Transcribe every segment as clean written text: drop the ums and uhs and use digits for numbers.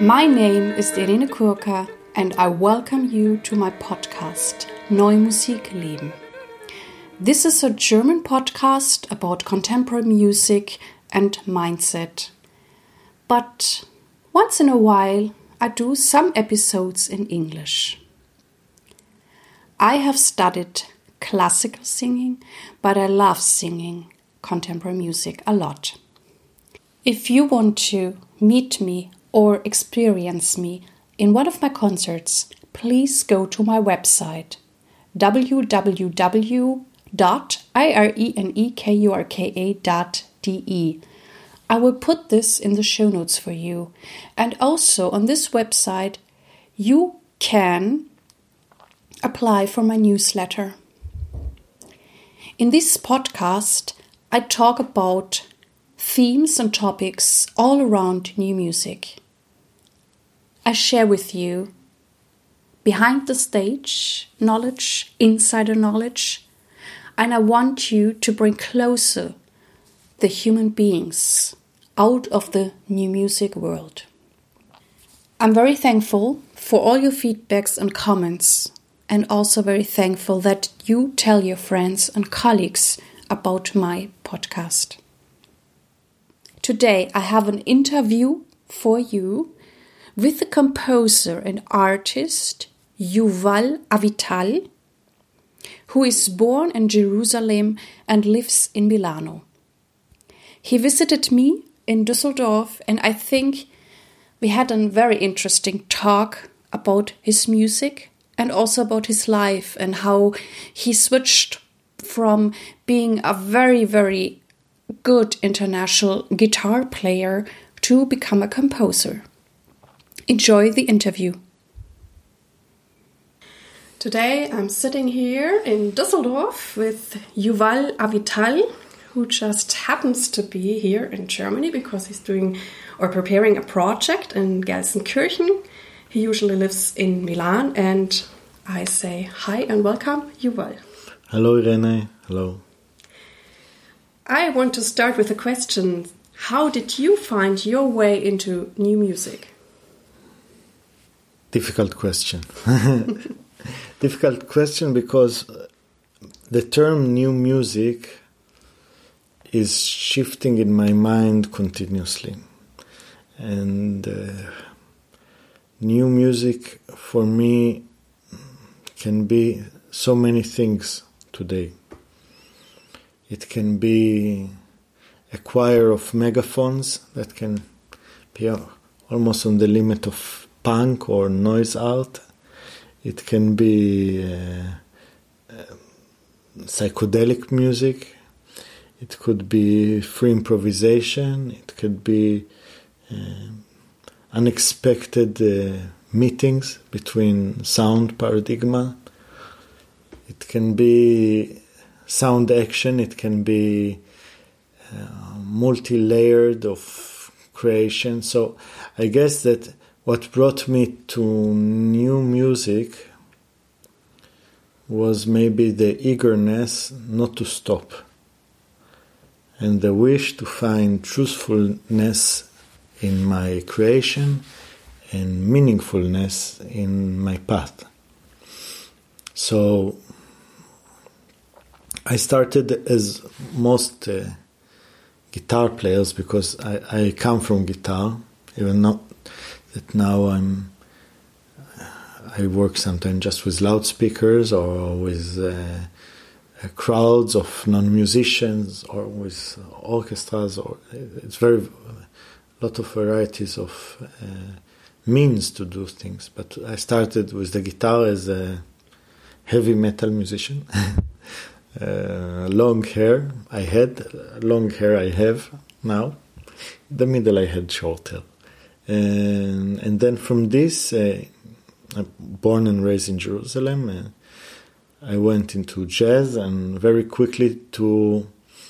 My name is Irene Kurka and I welcome you to my podcast Neue Musik leben. This is a German podcast about contemporary music and mindset. But once in a while I do some episodes in English. I have studied classical singing, but I love singing contemporary music a lot. If you want to meet me or experience me in one of my concerts, please go to my website www.irenekurka.de. I will put this in the show notes for you. And also on this website, you can apply for my newsletter. In this podcast, I talk about themes and topics all around new music. I share with you behind the stage knowledge, insider knowledge, and I want you to bring closer the human beings out of the new music world. I'm very thankful for all your feedbacks and comments, and also very thankful that you tell your friends and colleagues about my podcast. Today I have an interview for you with the composer and artist Yuval Avital, who is born in Jerusalem and lives in Milano. He visited me in Düsseldorf and I think we had a very interesting talk about his music and also about his life and how he switched from being a very, very good international guitar player to become a composer. Enjoy the interview. Today I'm sitting here in Düsseldorf with Yuval Avital, who just happens to be here in Germany because he's doing or preparing a project in Gelsenkirchen. He usually lives in Milan, and I say hi and welcome, Yuval. Hello, Irene. Hello. I want to start with a question. How did you find your way into new music? Difficult question. Difficult question because the term new music is shifting in my mind continuously. And new music for me can be so many things today. It can be a choir of megaphones that can be almost on the limit of punk or noise art. It can be psychedelic music. It could be free improvisation. It could be unexpected meetings between sound paradigma. It can be sound action. It can be multi-layered of creation. So I guess that what brought me to new music was maybe the eagerness not to stop and the wish to find truthfulness in my creation and meaningfulness in my path. So I started as most guitar players because I come from guitar, even not that now I work sometimes just with loudspeakers or with crowds of non-musicians or with orchestras. Or it's a lot of varieties of means to do things. But I started with the guitar as a heavy metal musician. Long hair I had, long hair I have now. The middle I had short hair. And then from this, I'm born and raised in Jerusalem. I went into jazz and very quickly to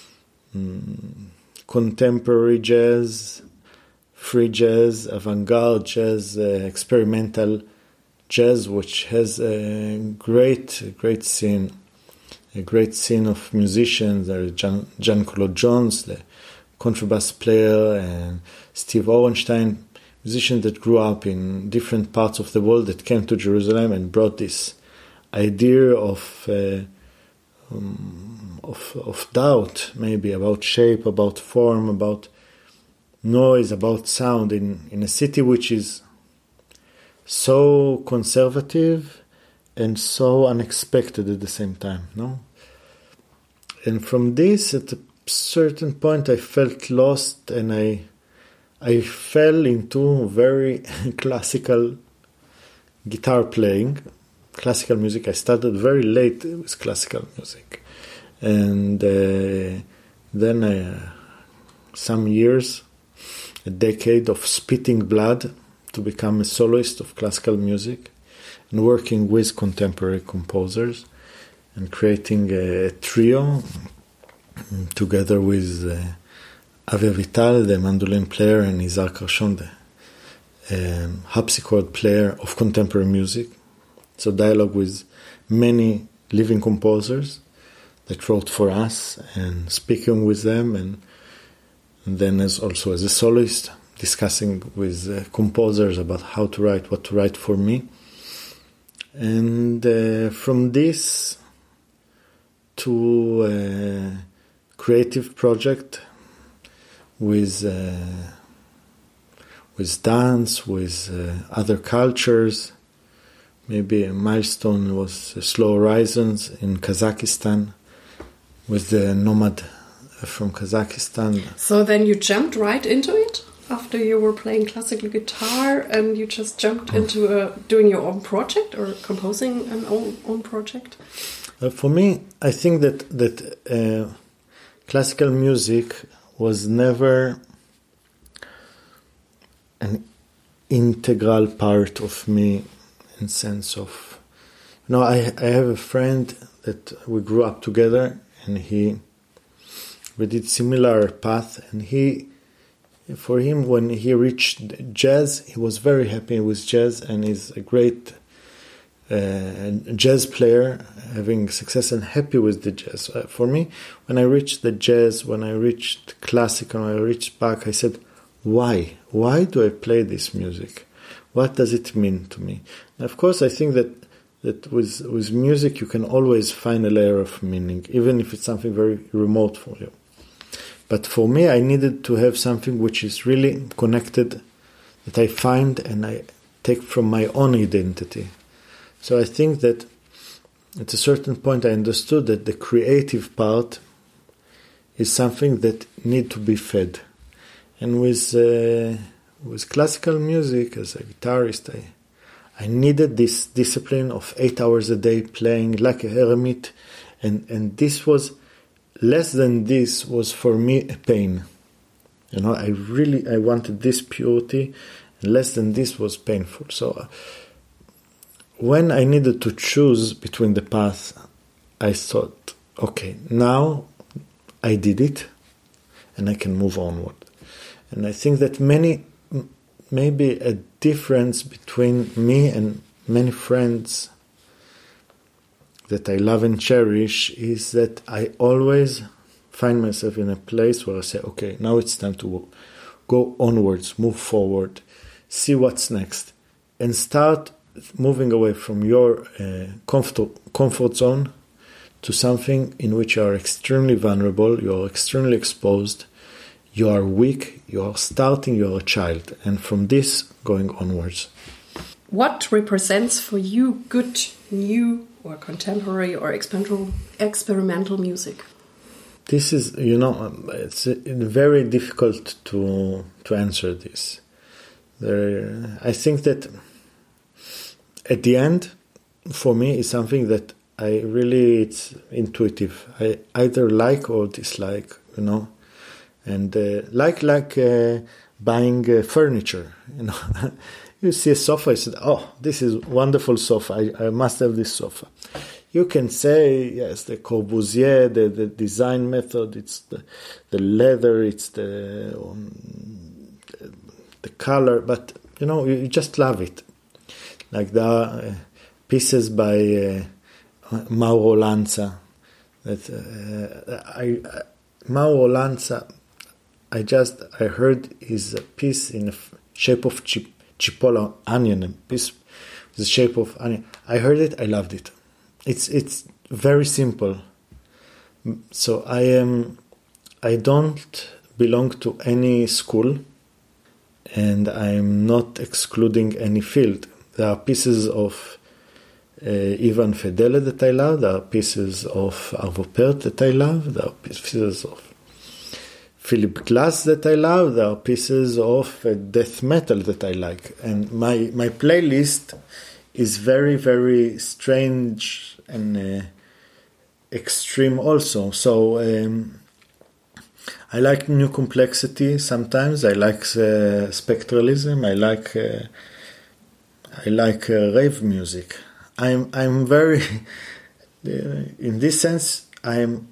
contemporary jazz, free jazz, avant-garde jazz, experimental jazz, which has a great scene. A great scene of musicians. There is John Claude Jones, the contrabass player, and Steve Orenstein musicians that grew up in different parts of the world that came to Jerusalem and brought this idea of doubt, maybe about shape, about form, about noise, about sound in a city which is so conservative and so unexpected at the same time, no? And from this, at a certain point, I felt lost, and I fell into very classical guitar playing, classical music. I started very late with classical music. And then some years, a decade of spitting blood to become a soloist of classical music and working with contemporary composers and creating a trio together with Avi Avital, the mandolin player, and Izar Karshon, the harpsichord player of contemporary music. So dialogue with many living composers that wrote for us and speaking with them, and then also as a soloist, discussing with composers about how to write, what to write for me. And from this to a creative project with dance, with other cultures. Maybe a milestone was Slow Horizons in Kazakhstan with the nomad from Kazakhstan. So then you jumped right into it after you were playing classical guitar, and you just jumped into doing your own project or composing an own project? For me, I think that classical music was never an integral part of me, in sense of, I have a friend that we grew up together, and we did similar path, and for him, when he reached jazz, he was very happy with jazz, and he's a great jazz player, having success and happy with the jazz. For me, when I reached the jazz, when I reached classical, when I reached Bach, I said, why? Why do I play this music? What does it mean to me? And of course, I think that with music, you can always find a layer of meaning, even if it's something very remote for you. But for me, I needed to have something which is really connected, that I find and I take from my own identity. So I think that at a certain point I understood that the creative part is something that need to be fed. And with classical music, as a guitarist, I needed this discipline of 8 hours a day playing like a hermit, and this was, less than this was for me a pain. I wanted this purity, and less than this was painful. So when I needed to choose between the paths, I thought, okay, now I did it, and I can move onward. And I think that maybe a difference between me and many friends that I love and cherish is that I always find myself in a place where I say, okay, now it's time to go onwards, move forward, see what's next, and start moving away from your comfort zone to something in which you are extremely vulnerable, you are extremely exposed, you are weak, you are starting, you are a child, and from this going onwards. What represents for you good, new, or contemporary or experimental music? This is, it's very difficult to answer this. I think that at the end, for me, is something that it's intuitive. I either like or dislike, and like buying furniture, You see a sofa, you said, oh, this is wonderful sofa, I must have this sofa. You can say, yes, the Corbusier, the design method, it's the leather, it's the color, but, you just love it. Like the pieces by Mauro Lanza. Mauro Lanza, I heard his piece in shape of chipotle onion, a piece the shape of onion. I heard it, I loved it. It's very simple. So I don't belong to any school, and I'm not excluding any field. There are pieces of Ivan Fedele that I love. There are pieces of Arvo Pärt that I love. There are pieces of Philip Glass that I love. There are pieces of death metal that I like. And my playlist is very, very strange and extreme also. So I like new complexity sometimes. I like spectralism. I like rave music. I'm very in this sense. I'm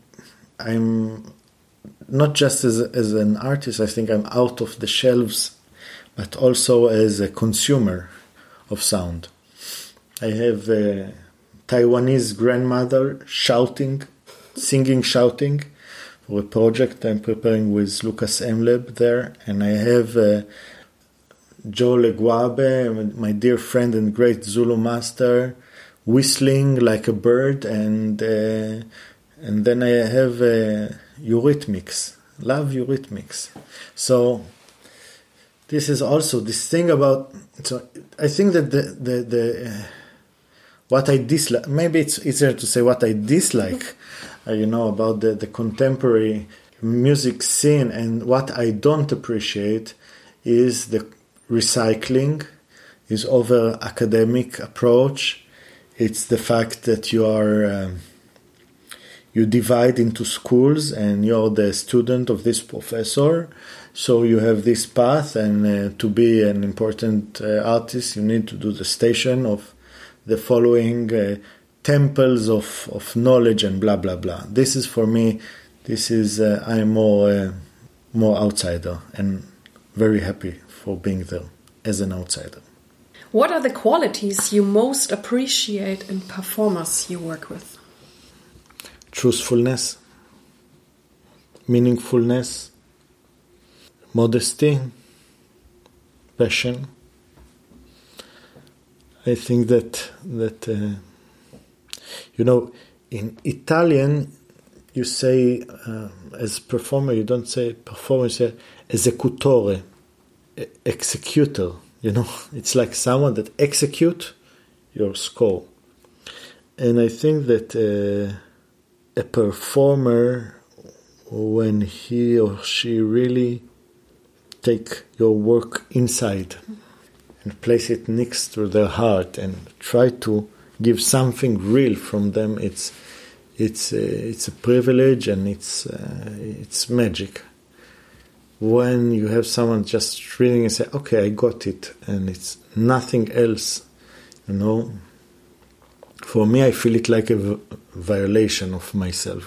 not just as an artist. I think I'm out of the shelves, but also as a consumer of sound. I have a Taiwanese grandmother singing shouting for a project I'm preparing with Lucas Emleb there, and I have Joe Leguabe, my dear friend and great Zulu master, whistling like a bird, and then I have Eurythmics. Love Eurythmics. So this is also this thing about. So I think that the what I dislike. Maybe it's easier to say what I dislike. About the contemporary music scene, and what I don't appreciate is the recycling, is over academic approach. It's the fact that you divide into schools, and you're the student of this professor, so you have this path, and to be an important artist, you need to do the station of the following temples of knowledge and blah blah blah. This is for me. This is I'm more outsider, and very happy for being there as an outsider. What are the qualities you most appreciate in performers you work with? Truthfulness, meaningfulness, modesty, passion. I think that in Italian, you say as performer, you don't say performer, you say esecutore, executor. It's like someone that execute your score. And I think that a performer, when he or she really take your work inside and place it next to their heart and try to give something real from them, it's a privilege, and it's magic. When you have someone just reading and say, okay, I got it, and it's nothing else, for me, I feel it like a violation of myself,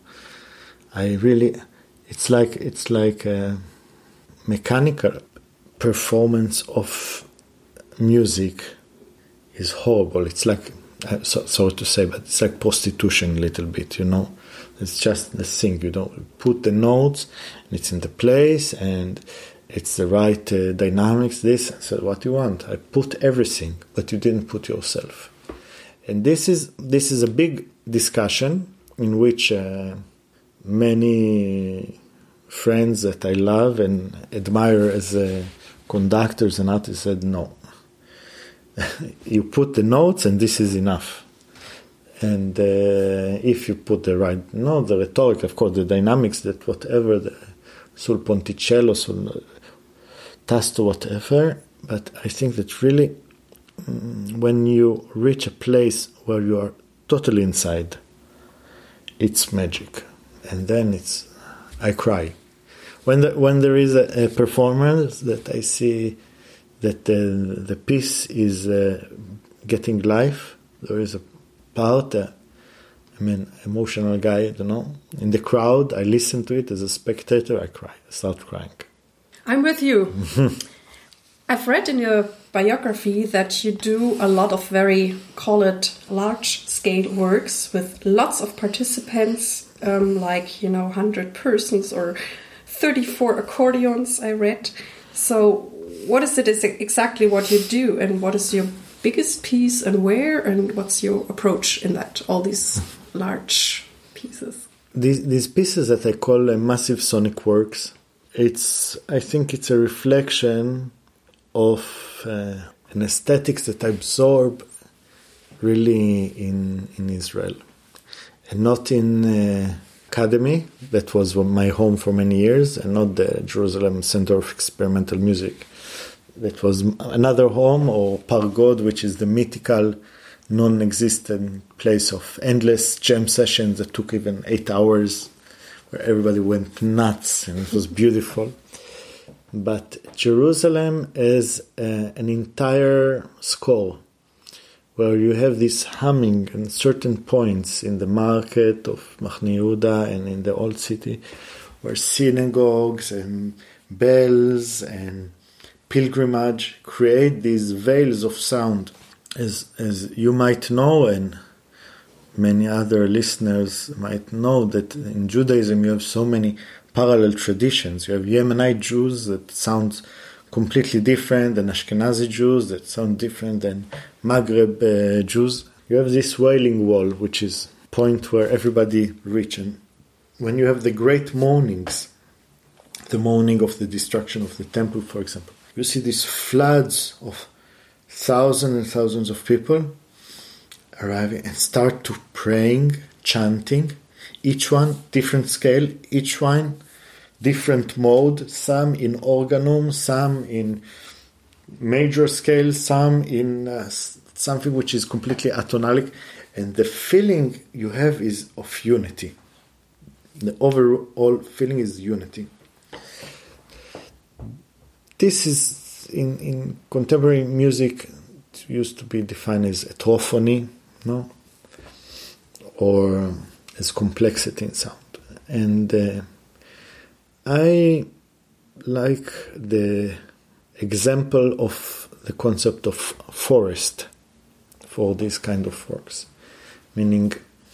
it's like a mechanical performance of music is horrible. It's like, sorry to say, but it's like prostitution a little bit, It's just the thing, put the notes, and it's in the place, and it's the right dynamics, this. So what you want? I put everything, but you didn't put yourself. And this is a big discussion in which many friends that I love and admire as conductors and artists said, no. You put the notes, and this is enough. And if you put the right note, the rhetoric, of course, the dynamics, that whatever, sul ponticello, sul tasto, whatever. But I think that really, when you reach a place where you are totally inside, it's magic. And then I cry. When there is a performance that I see that the piece is getting life, there is a part, emotional guy, in the crowd, I listen to it as a spectator, I cry, I start crying. I'm with you. I've read in your biography that you do a lot of very, call it, large-scale works with lots of participants, 100 persons or 34 accordions, I read. So what is it exactly what you do, and what is your biggest piece, and where, and what's your approach in that, all these large pieces? These pieces that I call massive sonic works, I think it's a reflection of an aesthetics that I absorb really in Israel, and not in Academy, that was my home for many years, and not the Jerusalem Center of Experimental Music. That was another home, or Pargod, which is the mythical, non-existent place of endless jam sessions that took even 8 hours, where everybody went nuts, and it was beautiful. But Jerusalem is an entire score, where you have this humming in certain points in the market of Machne Yehuda and in the old city, where synagogues and bells and pilgrimage create these veils of sound. As you might know, and many other listeners might know, that in Judaism you have so many parallel traditions. You have Yemenite Jews that sound completely different than Ashkenazi Jews that sound different than Maghreb Jews. You have this wailing wall, which is a point where everybody reaches. When you have the great mournings, the mourning of the destruction of the temple, for example, you see these floods of thousands and thousands of people arriving and start to praying, chanting, each one different scale, each one different mode, some in organum, some in major scale, some in something which is completely atonalic, and the feeling you have is of unity. The overall feeling is unity. This is, in contemporary music, it used to be defined as heterophony, no? Or as complexity in sound. And I like the example of the concept of forest for this kind of works. Meaning,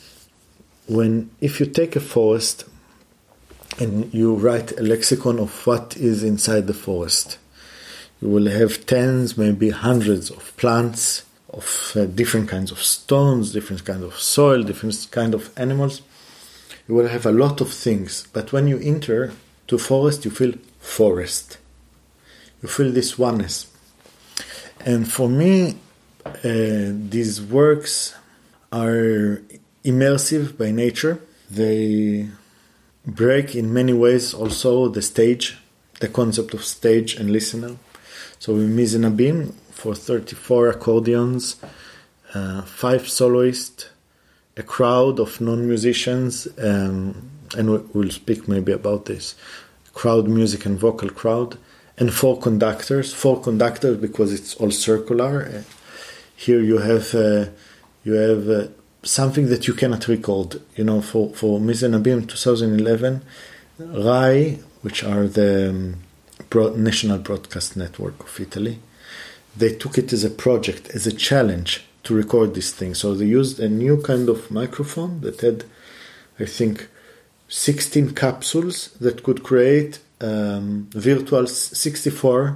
if you take a forest and you write a lexicon of what is inside the forest, you will have tens, maybe hundreds of plants, of different kinds of stones, different kinds of soil, different kinds of animals. You will have a lot of things, but when you enter to forest, you feel forest. You feel this oneness. And for me, these works are immersive by nature. They break in many ways also the stage, the concept of stage and listener. So in Mizenabim, for 34 accordions, 5 soloists, a crowd of non-musicians, and we'll speak maybe about this, crowd music and vocal crowd, and 4 conductors because it's all circular. Here you have something that you cannot record. You know, for Mizenabim 2011, RAI, which are the National Broadcast Network of Italy, they took it as a project, as a challenge to record this thing. So they used a new kind of microphone that had, I think, 16 capsules that could create virtual 64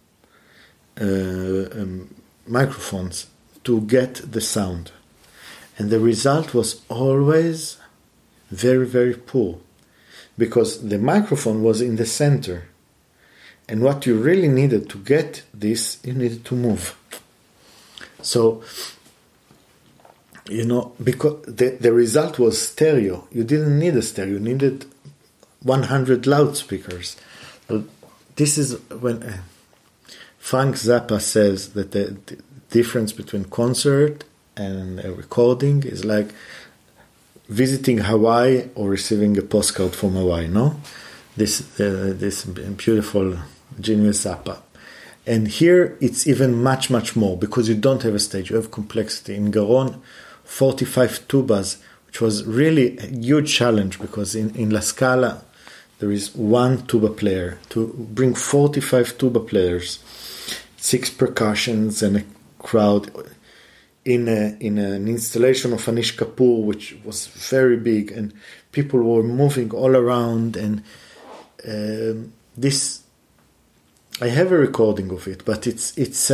microphones to get the sound. And the result was always very, very poor, because the microphone was in the center. And what you really needed to get this, you needed to move. So, you know, because the result was stereo. You didn't need a stereo. You needed 100 loudspeakers. So this is when Frank Zappa says that the difference between concert and a recording is like visiting Hawaii or receiving a postcard from Hawaii, no? This beautiful genius Zappa. And here it's even much, much more, because you don't have a stage, you have complexity. In Garon, 45 tubas, which was really a huge challenge, because in La Scala there is one tuba player. To bring 45 tuba players, 6 percussions and a crowd in an installation of Anish Kapoor, which was very big, and people were moving all around, and this I have a recording of it, but it's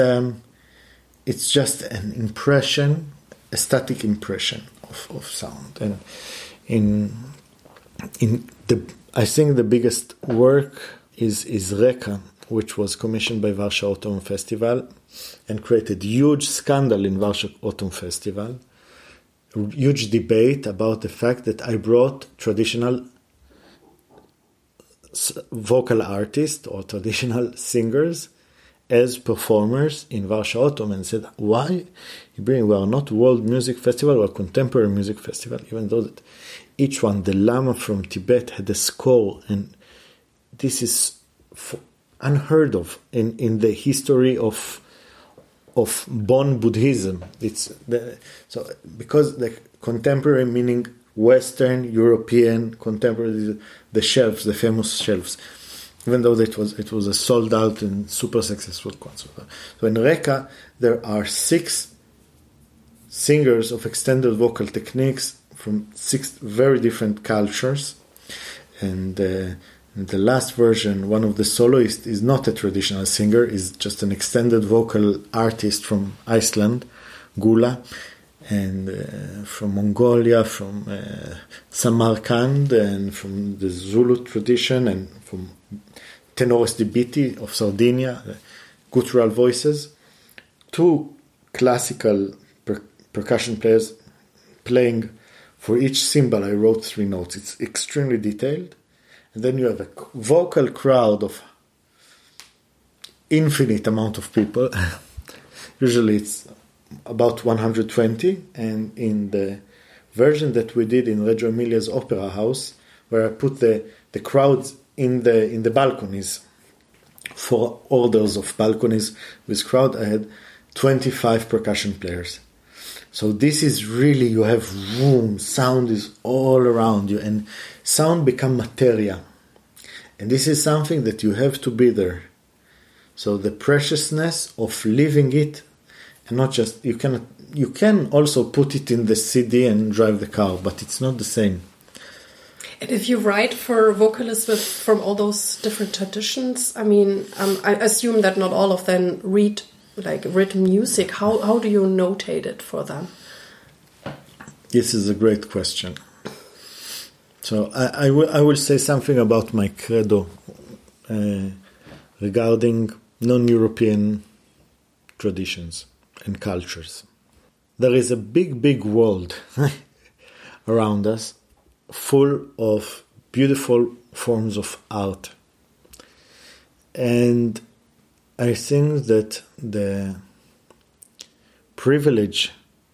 just an impression, a static impression of sound. And I think the biggest work is Reka, which was commissioned by Warsaw Autumn Festival and created huge scandal in Warsaw Autumn Festival. Huge debate about the fact that I brought traditional vocal artists or traditional singers as performers in Warsaw Autumn, and said, why we are not World Music Festival or Contemporary Music Festival, even though that each one, the Lama from Tibet had a score, and this is unheard of in the history of Bon Buddhism. So because the contemporary meaning Western European contemporary, the shelves, the famous shelves, even though it was a sold out and super successful concert. So in Reka there are 6 singers of extended vocal techniques from 6 very different cultures, and in the last version, one of the soloists is not a traditional singer, is just an extended vocal artist from Iceland, Gula, and from Mongolia, from Samarkand, and from the Zulu tradition, and from Tenores di Biti of Sardinia, guttural voices. 2 classical percussion players playing for each cymbal. I wrote 3 notes. It's extremely detailed. And then you have a vocal crowd of infinite amount of people. Usually it's about 120. And in the version that we did in Reggio Emilia's Opera House, where I put the crowds in the balconies, 4 orders of balconies with crowd, I had 25 percussion players. So this is really, you have room, sound is all around you, and sound become materia. And this is something that you have to be there. So the preciousness of living it, and not just, you can also put it in the CD and drive the car, but it's not the same. And if you write for vocalists from all those different traditions, I mean, I assume that not all of them read like written music. How do you notate it for them? This is a great question. So I will say something about my credo regarding non-European traditions and cultures. There is a big world around us, full of beautiful forms of art. And I think that the privilege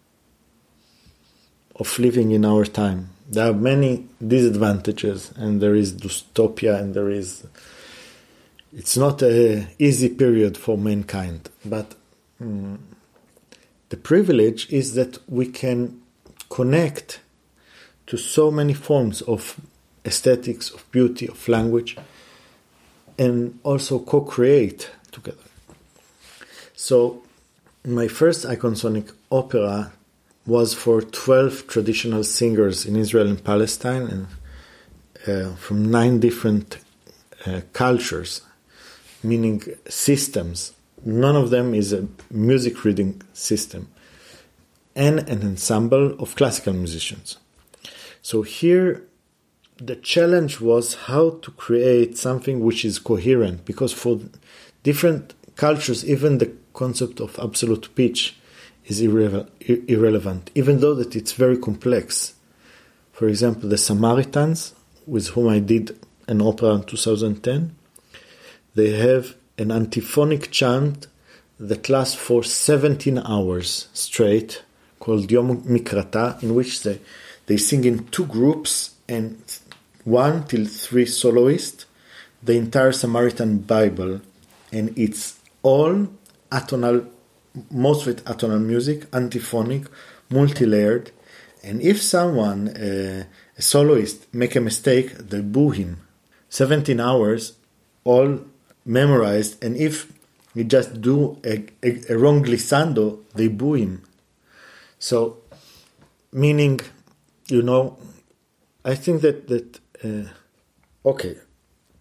of living in our time, there are many disadvantages, and there is dystopia, and it's not an easy period for mankind, but the privilege is that we can connect to so many forms of aesthetics, of beauty, of language, and also co-create together. So my first iconsonic opera was for 12 traditional singers in Israel and Palestine, and from 9 different cultures, meaning systems. None of them is a music reading system, and an ensemble of classical musicians. So here the challenge was how to create something which is coherent, because for different cultures, even the concept of absolute pitch is irrelevant, even though that it's very complex. For example, the Samaritans, with whom I did an opera in 2010, they have an antiphonic chant that lasts for 17 hours straight, called Yom Mikrata, in which they sing in 2 groups and 1 till 3 soloists, the entire Samaritan Bible, and it's all atonal, most of it atonal music, antiphonic, multi-layered, and if someone, a soloist, make a mistake, they boo him. 17 hours, all memorized, and if you just do a wrong glissando, they boo him. So, meaning, I think that okay,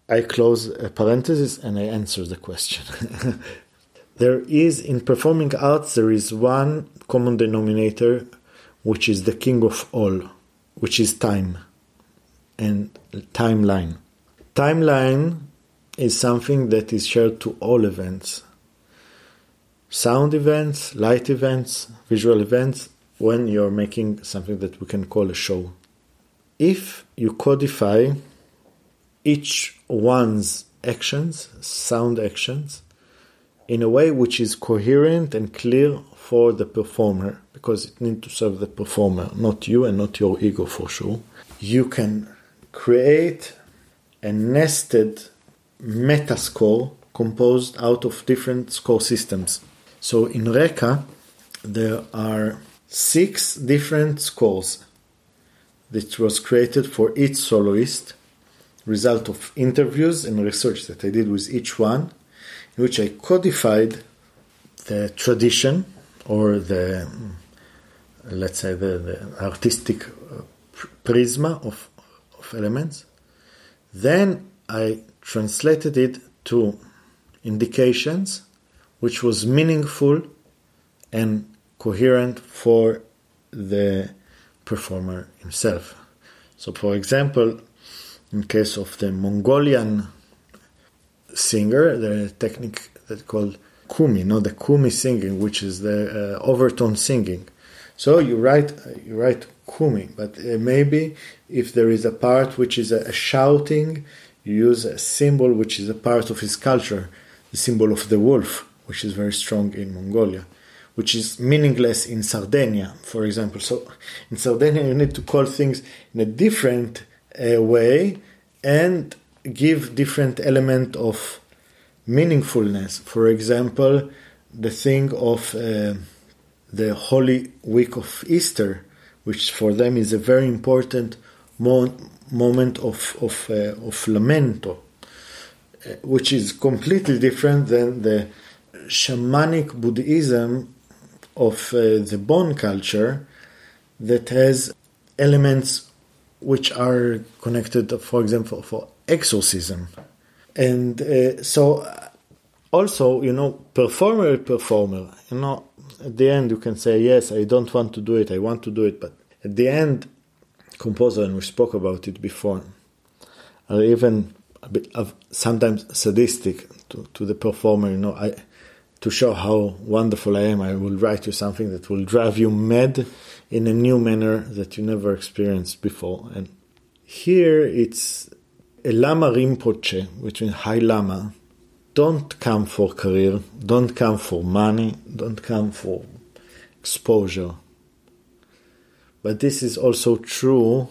I close a parenthesis and I answer the question. There is, in performing arts, there is one common denominator, which is the king of all, which is time and timeline. Timeline is something that is shared to all events. Sound events, light events, visual events, when you're making something that we can call a show. If you codify each one's actions, sound actions, in a way which is coherent and clear for the performer, because it needs to serve the performer, not you and not your ego for sure, you can create a nested meta score composed out of different score systems. So in Reka, there are 6 different scores that was created for each soloist, result of interviews and research that I did with each one, in which I codified the tradition or the, let's say, the artistic prisma of elements. Then I translated it to indications which was meaningful and coherent for the performer himself. So, for example, in case of the Mongolian singer, the technique that's called kumi, the kumi singing, which is the overtone singing. So you write kumi, but maybe if there is a part which is a shouting, you use a symbol which is a part of his culture, the symbol of the wolf, which is very strong in Mongolia, which is meaningless in Sardinia, for example. So in Sardinia, you need to call things in a different way and give different element of meaningfulness. For example, the thing of the Holy Week of Easter, which for them is a very important moment of lamento, which is completely different than the shamanic Buddhism of the Bon culture that has elements which are connected, for example, for exorcism. And so also, performer, at the end you can say, yes, I don't want to do it, I want to do it, but at the end, composer, and we spoke about it before, are even a bit of sometimes sadistic to the performer, to show how wonderful I am. I will write you something that will drive you mad in a new manner that you never experienced before. And here it's a Lama Rinpoche, which means High Lama. Don't come for career, don't come for money, don't come for exposure. But this is also true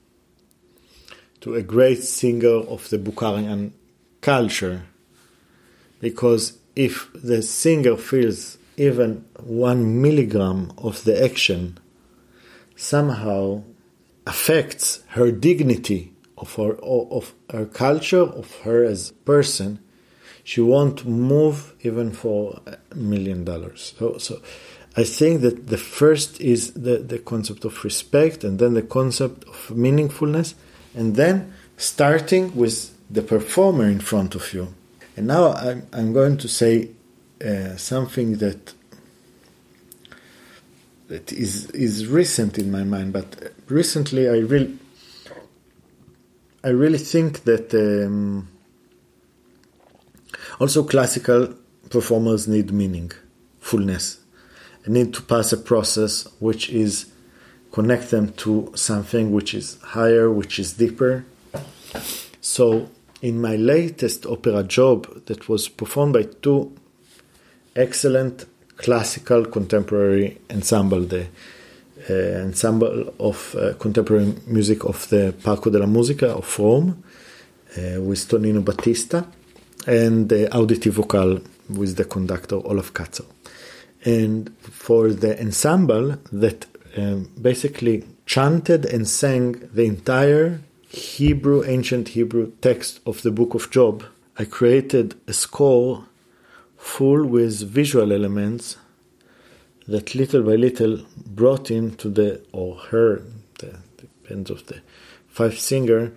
to a great singer of the Bukharian culture, because if the singer feels even 1 milligram of the action somehow affects her dignity of her culture, of her as a person, she won't move even for $1 million. So I think that the first is the concept of respect, and then the concept of meaningfulness, and then starting with the performer in front of you. And now I'm going to say something that is recent in my mind, but recently I really think that also classical performers need meaningfulness. They need to pass a process which is connect them to something which is higher, which is deeper. So in my latest opera job that was performed by 2 excellent classical contemporary ensemble, the ensemble of contemporary music of the Parco della Musica of Rome, with Tonino Battista, and the Auditive Vocal with the conductor Olaf Katzer. And for the ensemble that basically chanted and sang the entire ancient Hebrew text of the Book of Job, I created a score full with visual elements that little by little brought into depends of the 5 singer,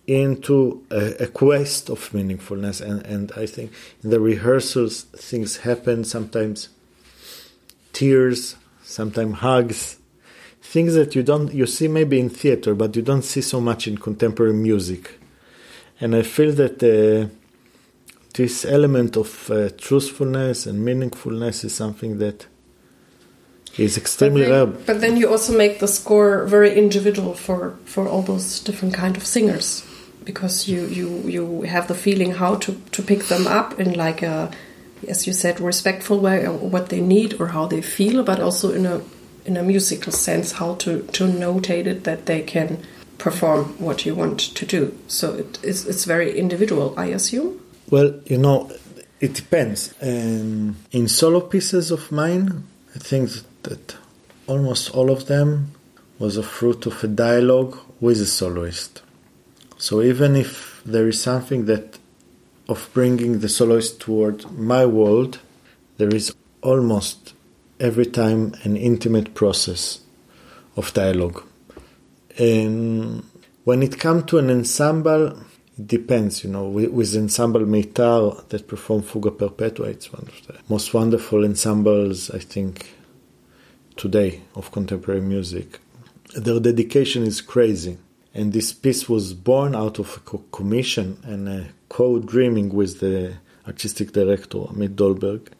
into a quest of meaningfulness, and I think in the rehearsals things happen, sometimes tears, sometimes hugs, things that you see maybe in theater, but you don't see so much in contemporary music. And I feel that this element of truthfulness and meaningfulness is something that is extremely rare. But then you also make the score very individual for all those different kind of singers, because you have the feeling how to pick them up in like a, as you said, respectful way, or what they need or how they feel, but also in a musical sense, how to notate it that they can perform what you want to do. So it's very individual, I assume. Well, it depends. In solo pieces of mine, I think that almost all of them was a fruit of a dialogue with a soloist. So even if there is something that of bringing the soloist toward my world, there is almost every time an intimate process of dialogue. And when it comes to an ensemble, it depends, with Ensemble Meitar that perform Fuga Perpetua, it's one of the most wonderful ensembles, I think, today of contemporary music. Their dedication is crazy. And this piece was born out of a commission and a co-dreaming with the artistic director, Amit Dolberg.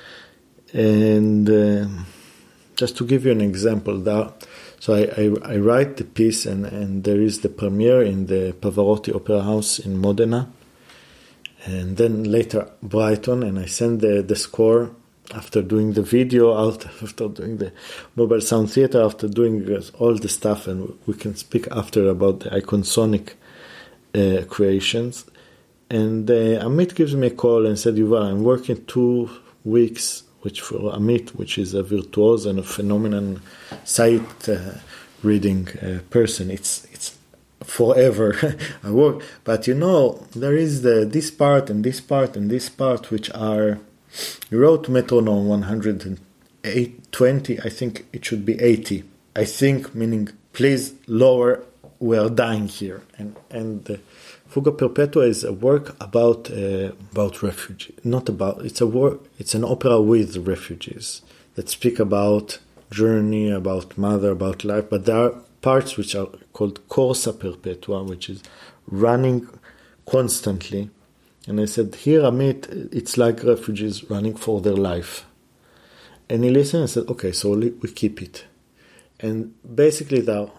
And just to give you an example, so I write the piece and there is the premiere in the Pavarotti Opera House in Modena. And then later Brighton, and I send the score after doing the video, after doing the Mobile Sound Theater, after doing all the stuff, and we can speak after about the Iconsonic creations. And Amit gives me a call and said, Yuval, I'm working 2 weeks, which for Amit, which is a virtuoso and a phenomenal sight reading person, it's forever I work. But there is this part and this part and this part, which are, you wrote metronome 120, I think it should be 80. I think, meaning, please lower, we are dying here. And Fuga Perpetua is a work about refugees. It's an opera with refugees that speak about journey, about mother, about life. But there are parts which are called Corsa Perpetua, which is running constantly. And I said, here, Amit, it's like refugees running for their life. And he listened and said, okay, so we keep it. And basically there are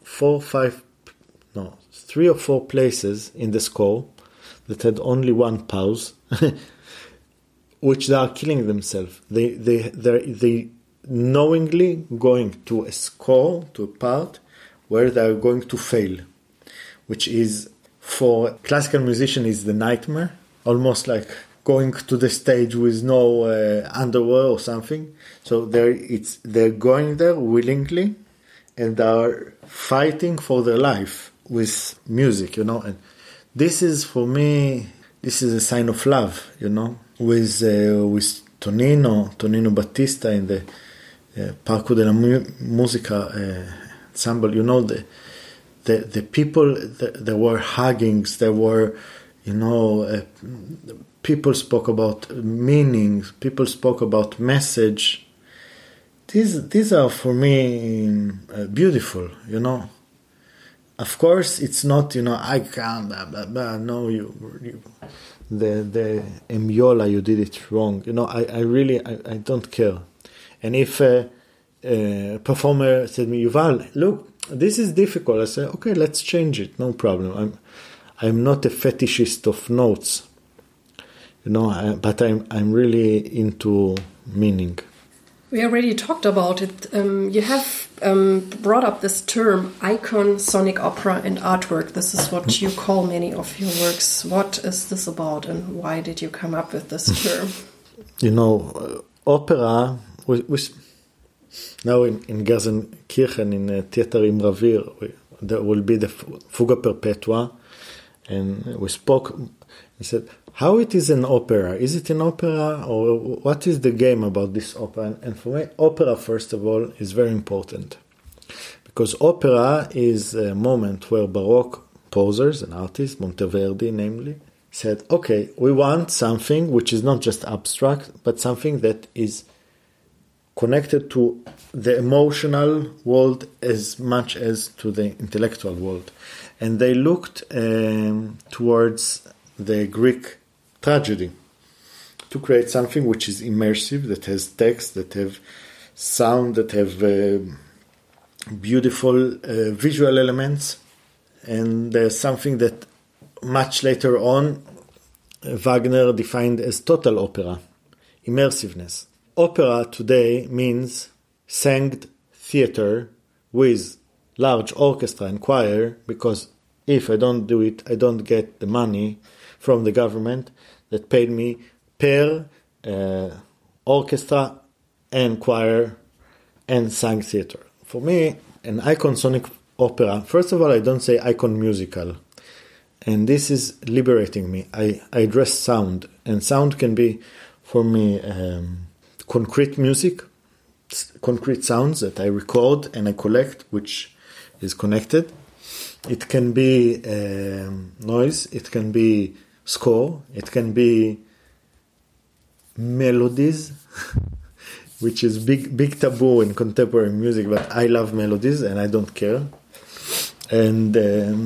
3 or 4 places in the score that had only one pause, which they are killing themselves. They knowingly going to a score, to a part where they are going to fail, which is, for a classical musician, is the nightmare, almost like going to the stage with no underwear or something. So they're going there willingly, and are fighting for their life with music, And this is, for me, this is a sign of love, With Tonino Battista in the Parco della Musica ensemble, the people, there were huggings, there were, people spoke about meanings, people spoke about message. These are, for me, beautiful, Of course, it's not, I can't, blah, blah, blah. No, the Emiola, you did it wrong. I really don't care. And if a performer said to me, Yuval, look, this is difficult, I say, okay, let's change it, no problem. I'm not a fetishist of notes, but I'm really into meaning. We already talked about it. You have brought up this term, icon, sonic opera, and artwork. This is what you call many of your works. What is this about, and why did you come up with this term? Opera, now in Gelsenkirchen, in Theater im Revier, there will be the Fuga Perpetua, and we spoke. He said, how it is an opera? Is it an opera, or what is the game about this opera? And for me, opera, first of all, is very important. Because opera is a moment where Baroque composers and artists, Monteverdi namely, said, okay, we want something which is not just abstract, but something that is connected to the emotional world as much as to the intellectual world. And they looked towards the Greek tragedy to create something which is immersive, that has text, that have sound, that have beautiful visual elements. And there's something that much later on Wagner defined as total opera, immersiveness. Opera today means sang theater with large orchestra and choir, because if I don't do it, I don't get the money from the government that paid me per orchestra and choir and sang theater. For me, an icon sonic opera, first of all, I don't say icon musical. And this is liberating me. I address sound. And sound can be, for me, concrete music, concrete sounds that I record and I collect, which is connected. It can be noise. It can be score. It can be melodies, which is big taboo in contemporary music, but I love melodies and I don't care. And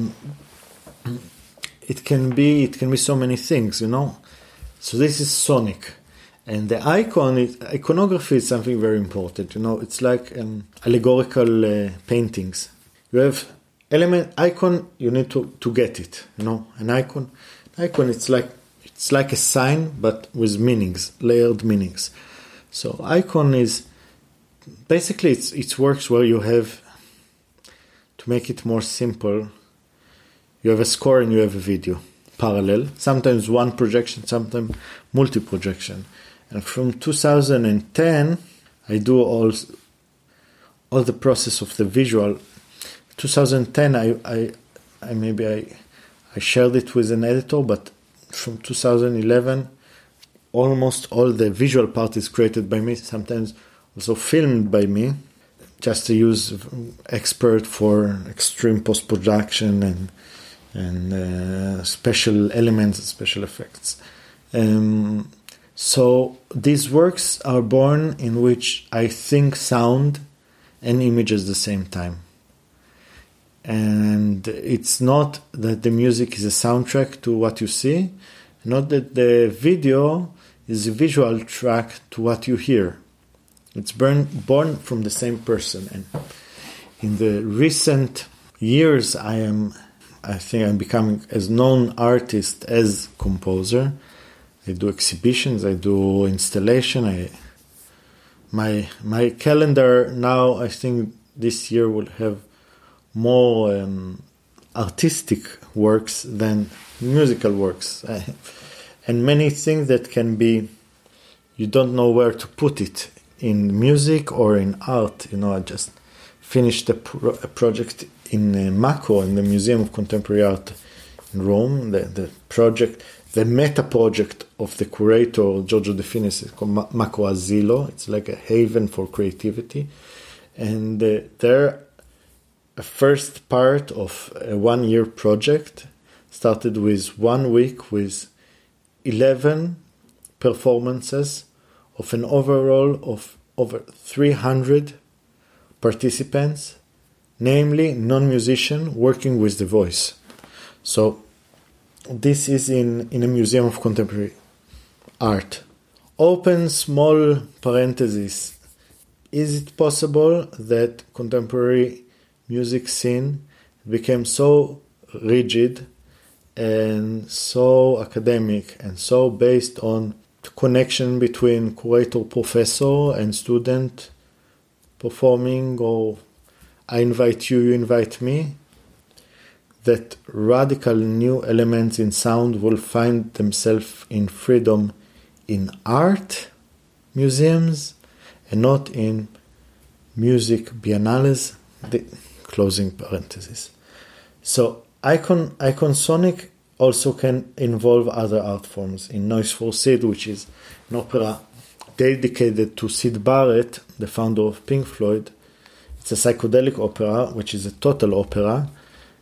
it can be so many things, you know. So this is sonic. And the iconography is something very important, you know. It's like allegorical paintings. You have icon, you need to get it, you know. An icon, it's like a sign, but with meanings, layered meanings. So icon is basically it works where you have, to make it more simple, you have a score and you have a video, parallel. Sometimes one projection, sometimes multi-projection. And from 2010, I do all the process of the visual. 2010, I shared it with an editor, but from 2011, almost all the visual part is created by me, sometimes also filmed by me, just to use expert for extreme post-production and special elements, special effects. So these works are born in which I think sound and image at the same time. And it's not that the music is a soundtrack to what you see, not that the video is a visual track to what you hear. It's born from the same person. And in the recent years, I think I'm becoming as known artist as composer. I do exhibitions, I do installation. My calendar now, I think this year will have more artistic works than musical works. And many things that can be, you don't know where to put it, in music or in art. You know, I just finished a project in Mako, in the Museum of Contemporary Art in Rome. The meta project of the curator Giorgio De Finis is called Mako Asilo. It's like a haven for creativity. And there, a first part of a 1-year project started with 1 week with 11 performances of an overall of over 300 participants, namely non-musician working with the voice. So this is in a Museum of Contemporary Art. Open small parenthesis. Is it possible that contemporary music scene became so rigid and so academic and so based on the connection between curator, professor and student performing, or I invite you, you invite me, that radical new elements in sound will find themselves in freedom in art museums and not in music biennales, the closing parenthesis. So icon sonic also can involve other art forms. In Noise for Sid, which is an opera dedicated to Syd Barrett, the founder of Pink Floyd, it's a psychedelic opera, which is a total opera,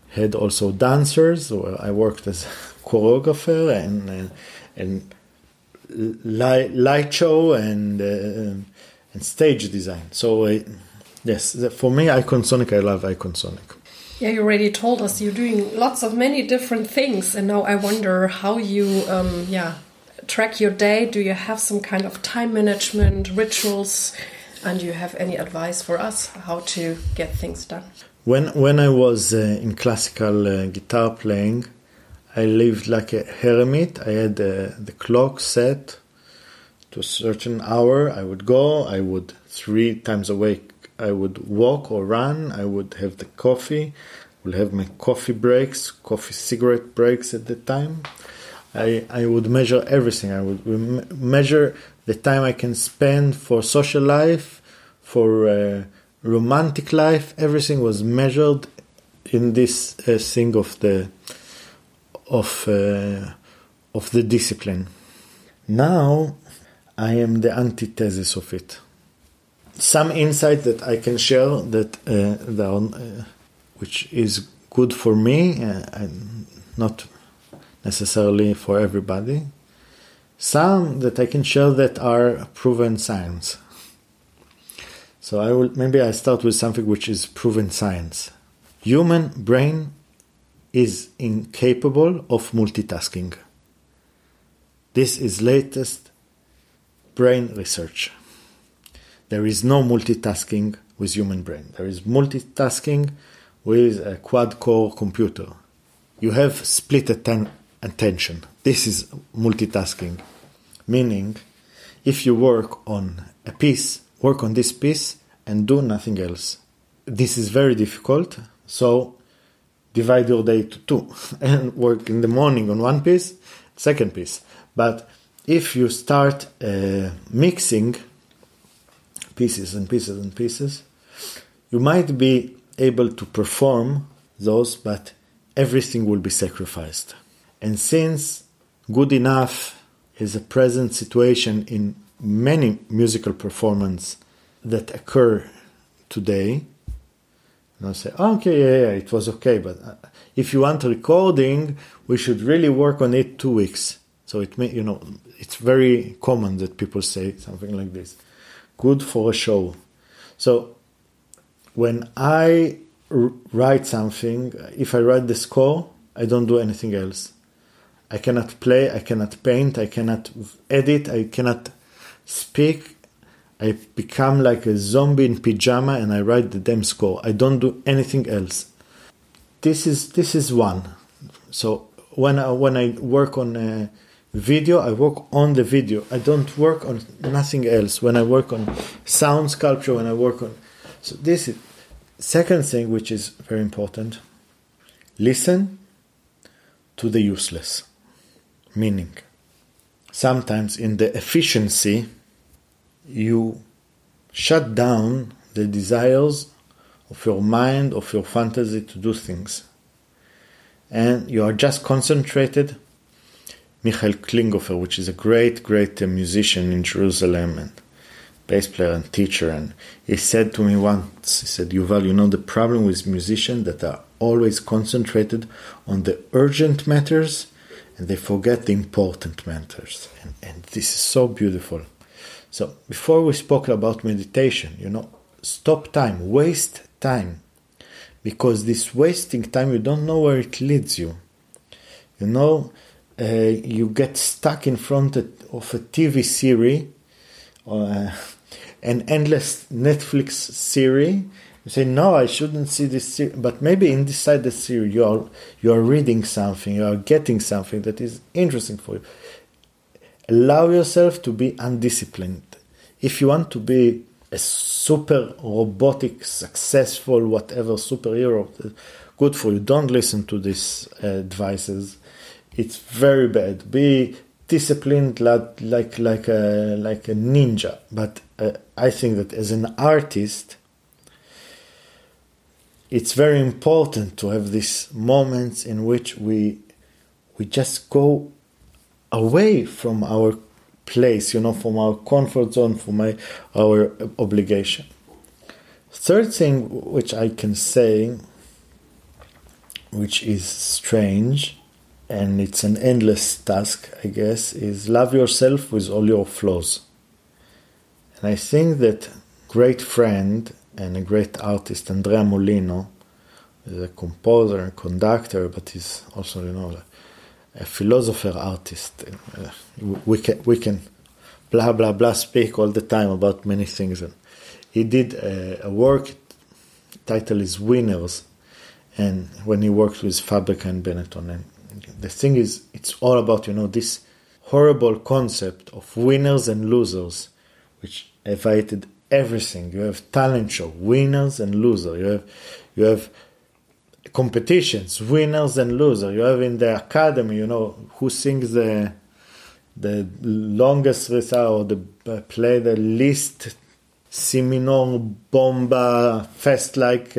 had also dancers, where I worked as choreographer and light show and stage design. So yes, for me, Iconsonic, I love Iconsonic. Yeah, you already told us you're doing many different things, and now I wonder how you track your day. Do you have some kind of time management rituals, and do you have any advice for us how to get things done? When I was in classical guitar playing, I lived like a hermit. I had the clock set to a certain hour. I would go. I would 3 times a week. I would walk or run. I would have the coffee. I would have my coffee breaks, cigarette breaks at the time. I would measure everything. I would measure the time I can spend for social life, for romantic life. Everything was measured in this thing of the discipline. Now I am the antithesis of it. Some insight that I can share which is good for me, and not necessarily for everybody. Some that I can share that are proven science. So I start with something which is proven science. Human brain is incapable of multitasking. This is latest brain research. There is no multitasking with human brain. There is multitasking with a quad-core computer. You have split attention. This is multitasking. Meaning, if you work on a piece, work on this piece and do nothing else. This is very difficult, so divide your day to 2 and work in the morning on one piece, second piece. But if you start mixing pieces and pieces and pieces, you might be able to perform those, but everything will be sacrificed. And since good enough is a present situation in many musical performances that occur today, say, okay, it was okay, but if you want a recording, we should really work on it 2 weeks. So it's very common that people say something like this. Good for a show. So when I write something, if I write the score, I don't do anything else. I cannot play, I cannot paint, I cannot edit, I cannot speak. I become like a zombie in pyjama and I write the damn score. I don't do anything else. This is one. So when I work on a video, I work on the video. I don't work on nothing else. When I work on sound sculpture, when I work on... So this is... Second thing, which is very important, listen to the useless. Meaning, sometimes in the efficiency, you shut down the desires of your mind, of your fantasy to do things. And you are just concentrated. Michael Klinghoffer, which is a great musician in Jerusalem and bass player and teacher, and he said to me once, he said, Yuval, the problem with musicians that are always concentrated on the urgent matters and they forget the important matters. And this is so beautiful. So before we spoke about meditation, stop time, waste time. Because this wasting time, you don't know where it leads you. You get stuck in front of a TV series, an endless Netflix series. You say, no, I shouldn't see this series. But maybe inside the series, you are reading something, you are getting something that is interesting for you. Allow yourself to be undisciplined. If you want to be a super robotic, successful, whatever superhero, good for you. Don't listen to these advices. It's very bad. Be disciplined like a ninja. But I think that as an artist, it's very important to have these moments in which we just go away from our place, from our comfort zone, from our obligation. Third thing which I can say, which is strange, and it's an endless task, I guess, is love yourself with all your flaws. And I think that great friend and a great artist, Andrea Molino, is a composer and conductor, but he's also, a philosopher artist. We can blah blah blah speak all the time about many things. And he did a work. Title is Winners, and when he worked with Fabrica and Benetton, and the thing is, it's all about this horrible concept of winners and losers, which evaded everything. You have talent show, winners and losers. You have competitions, winners and losers. You have in the academy, who sings the longest recital, or the play the least si minor bomba, fast like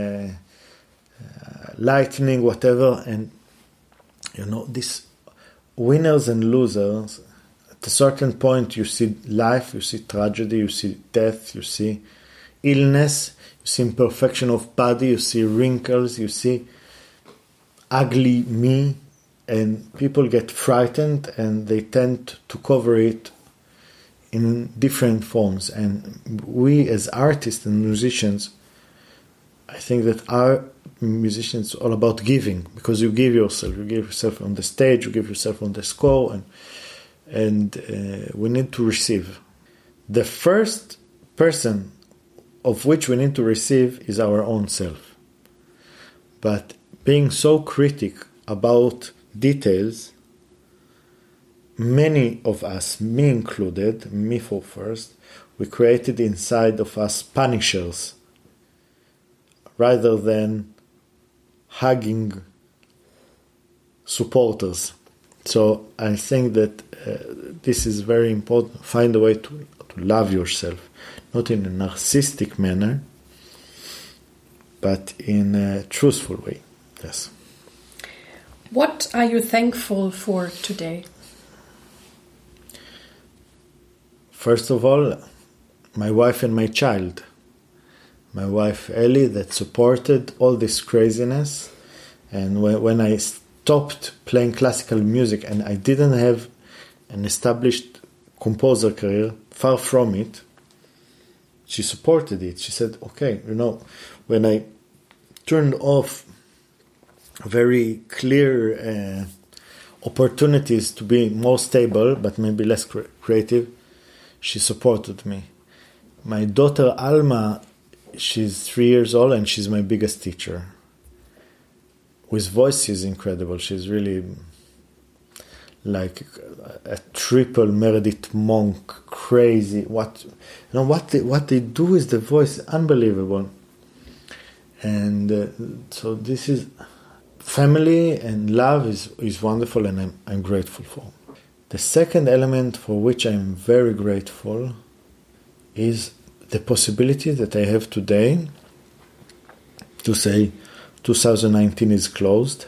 lightning, whatever. And these winners and losers, at a certain point you see life, you see tragedy, you see death, you see illness, you see imperfection of body, you see wrinkles, you see ugly me, and people get frightened and they tend to cover it in different forms. And we as artists and musicians, I think that our musicians are all about giving, because you give yourself on the stage, you give yourself on the score, and we need to receive. The first person of which we need to receive is our own self. But being so critic about details, many of us, me included, me for first, we created inside of us punishers rather than hugging supporters. So I think that this is very important. Find a way to love yourself, not in a narcissistic manner, but in a truthful way. Yes. What are you thankful for today? First of all, my wife and my child. My wife Ellie, that supported all this craziness. And when I stopped playing classical music and I didn't have an established composer career, far from it, she supported it. She said, okay, when I turned off very clear opportunities to be more stable, but maybe less creative, she supported me. My daughter Alma, she's 3 years old and she's my biggest teacher. With voice, she's incredible. She's really like a triple Meredith Monk, crazy. What they do with the voice, unbelievable. And so this is family and love is wonderful, and I'm grateful for. The second element for which I'm very grateful is the possibility that I have today to say 2019 is closed,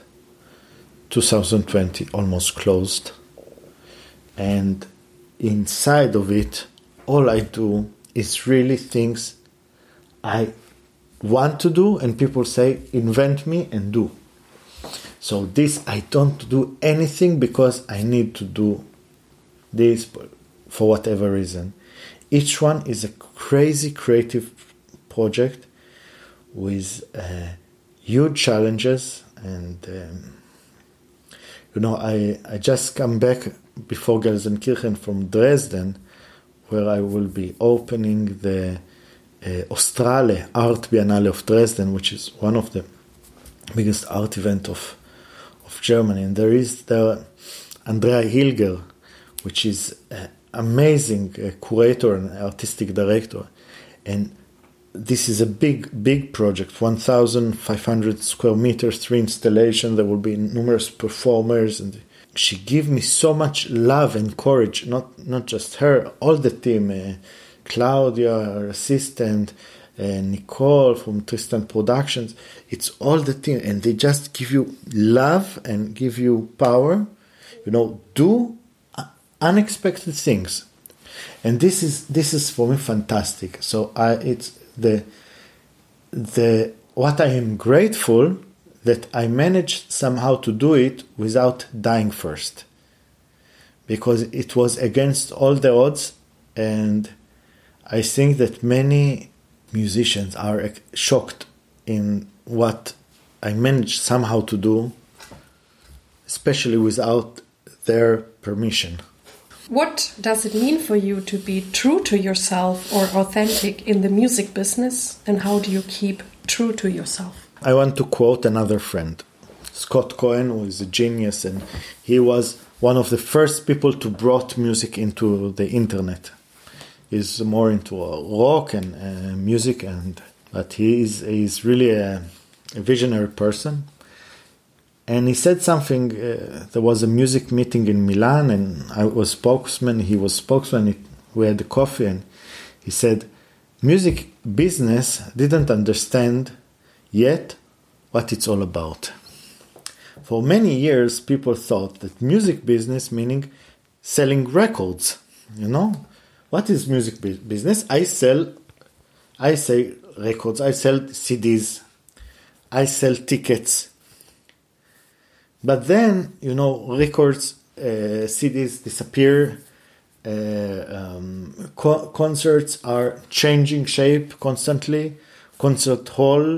2020 almost closed, and inside of it, all I do is really things I want to do, and people say, invent me and do. So this, I don't do anything because I need to do this for whatever reason. Each one is a crazy creative project with huge challenges, and I just come back before Gelsenkirchen from Dresden, where I will be opening the Ostrale Art Biennale of Dresden, which is one of the biggest art event of Germany. And there is the Andrea Hilger, which is an amazing curator and artistic director. And this is a big project, 1,500 square meters, 3 installations. There will be numerous performers, and she gave me so much love and courage. Not just her, all the team, Claudia, her assistant, Nicole from Tristan Productions. It's all the team, and they just give you love and give you power. Do unexpected things, and this is for me fantastic. So it's the what I am grateful that I managed somehow to do it without dying first, because it was against all the odds. And I think that many musicians are shocked in what I managed somehow to do, especially without their permission. What does it mean for you to be true to yourself or authentic in the music business, and how do you keep true to yourself? I want to quote another friend, Scott Cohen, who is a genius, and he was one of the first people to brought music into the internet. He's more into rock and music, but he's really a visionary person. And he said something, there was a music meeting in Milan, and I was spokesman, he was spokesman, we had the coffee, and he said, music business didn't understand yet what it's all about. For many years, people thought that music business meaning selling records, What is music business? I sell records, I sell CDs, I sell tickets. But then, records, CDs disappear, concerts are changing shape constantly, concert hall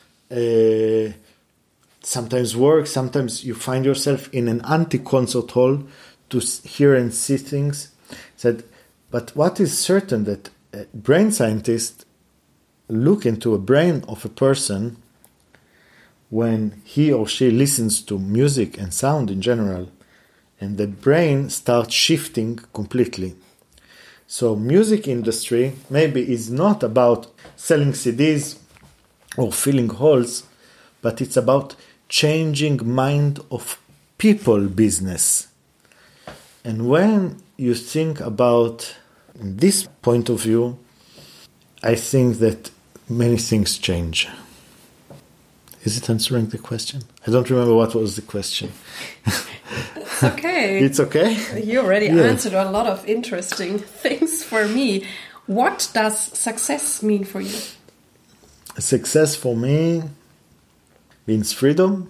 sometimes works, sometimes you find yourself in an anti-concert hall to hear and see things. But what is certain that brain scientists look into a brain of a person when he or she listens to music and sound in general, and the brain starts shifting completely. So music industry maybe is not about selling CDs or filling halls, but it's about changing mind of people business. And when you think about this point of view, I think that many things change. Is it answering the question? I don't remember what was the question. It's okay. It's okay? You already answered a lot of interesting things for me. What does success mean for you? Success for me means freedom.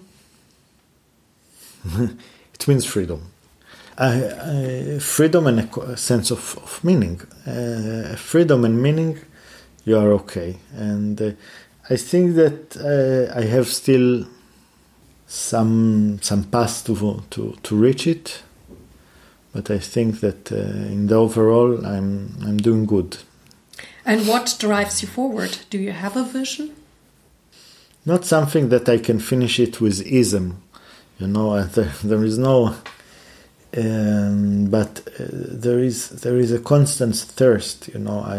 It means freedom. Freedom and a sense of meaning. Freedom and meaning, you are okay. And I think that I have still some path to reach it, but I think that in the overall I'm doing good. And what drives you forward? Do you have a vision? Not something that I can finish it with ism, there is no. But there is a constant thirst,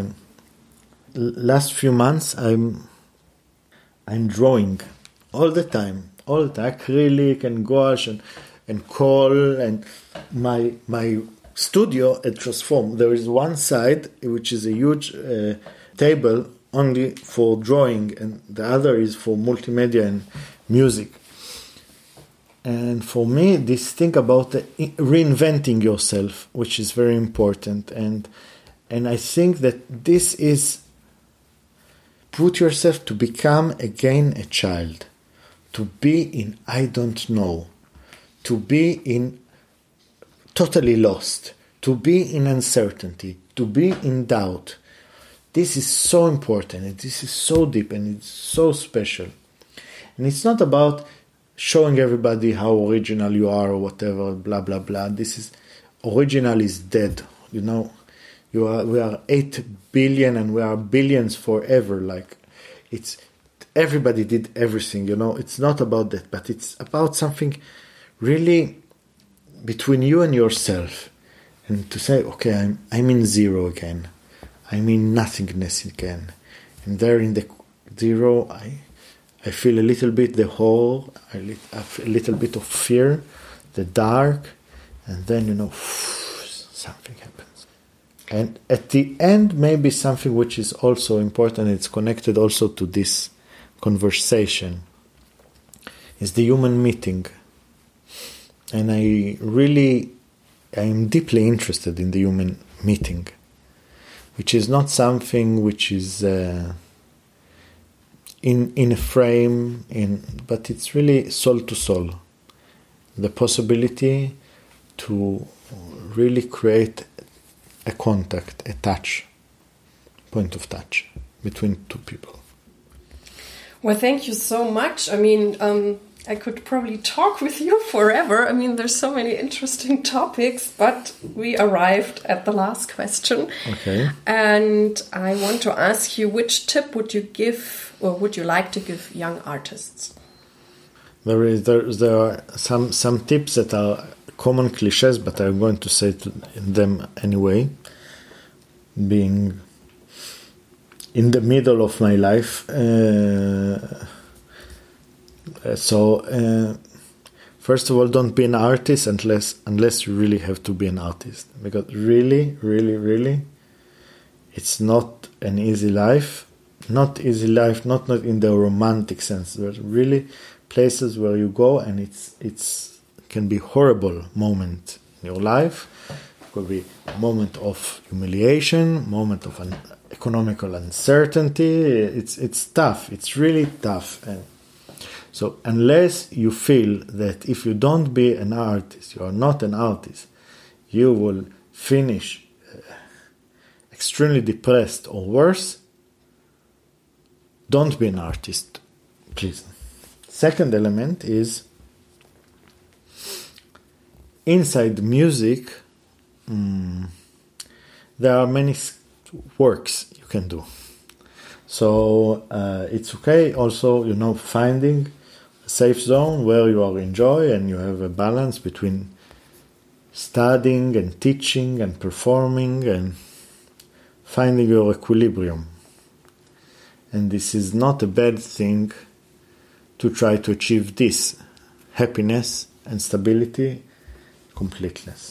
Last few months I'm drawing all the time, acrylic and gouache and coal, and my studio at Transform. There is one side which is a huge table only for drawing, and the other is for multimedia and music. And for me, this thing about reinventing yourself, which is very important, and I think that this is put yourself to become again a child, to be in I don't know, to be in totally lost, to be in uncertainty, to be in doubt. This is so important, and this is so deep, and it's so special. And it's not about showing everybody how original you are or whatever, blah, blah, blah. Original is dead, We are 8 billion and we are billions forever. Everybody did everything, It's not about that, but it's about something really between you and yourself. And to say, okay, I'm in zero again. I'm in nothingness again. And there in the zero, I feel a little bit the whole, a little bit of fear, the dark, and then, something happens. And at the end, maybe something which is also important, it's connected also to this conversation, is the human meeting. And I'm deeply interested in the human meeting, which is not something which is in a frame, but it's really soul to soul. The possibility to really create a contact, a touch, point of touch between two people. Well, thank you so much. I mean, I could probably talk with you forever. I mean, there's so many interesting topics, but we arrived at the last question. Okay. And I want to ask you, which tip would you give, or would you like to give young artists? There are some tips that are common cliches, but I'm going to say them anyway. Being in the middle of my life, first of all, don't be an artist unless you really have to be an artist, because really, it's not an easy life. Not easy life, not in the romantic sense. There's really places where you go and it's can be horrible moment in your life. It could be a moment of humiliation, moment of an economical uncertainty. It's tough. It's really tough. And so unless you feel that if you don't be an artist, you are not an artist, you will finish extremely depressed or worse, don't be an artist, please. Second element is inside music, there are many works you can do. So it's okay also, finding a safe zone where you are enjoy and you have a balance between studying and teaching and performing and finding your equilibrium. And this is not a bad thing to try to achieve this happiness and stability, completeness.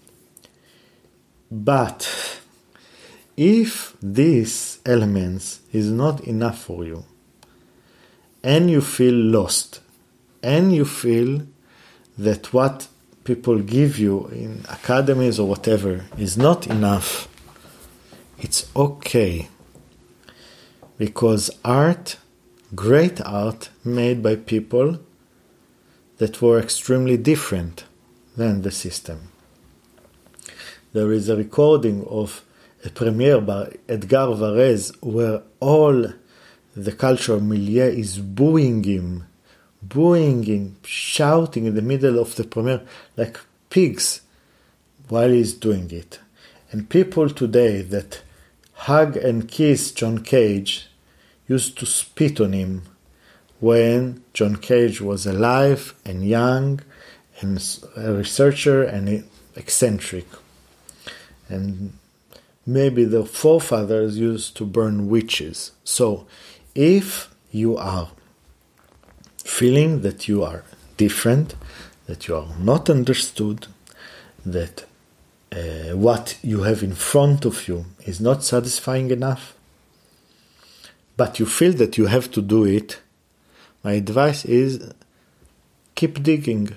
But if these elements is not enough for you, and you feel lost, and you feel that what people give you in academies or whatever is not enough, it's okay. Because art, great art, made by people that were extremely different than the system. There is a recording of a premiere by Edgar Varese where all the cultural milieu is booing him, shouting in the middle of the premiere like pigs while he's doing it. And people today that hug and kiss John Cage used to spit on him when John Cage was alive and young and a researcher and eccentric. And maybe the forefathers used to burn witches. So if you are feeling that you are different, that you are not understood, that what you have in front of you is not satisfying enough, but you feel that you have to do it, my advice is keep digging.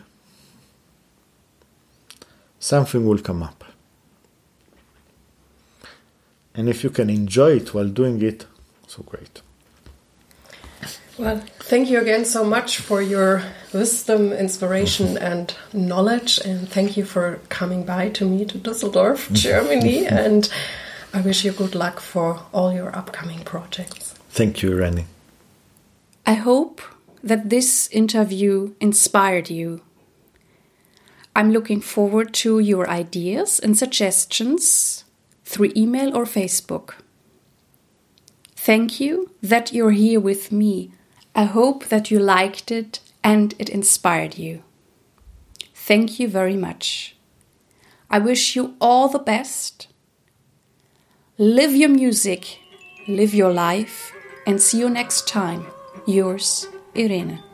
Something will come up. And if you can enjoy it while doing it, so great. Well, thank you again so much for your wisdom, inspiration and knowledge, and thank you for coming by to me to Düsseldorf, Germany, and I wish you good luck for all your upcoming projects. Thank you, Irene. I hope that this interview inspired you. I'm looking forward to your ideas and suggestions through email or Facebook. Thank you that you're here with me. I hope that you liked it and it inspired you. Thank you very much. I wish you all the best. Live your music, live your life, and see you next time. Yours, Irene.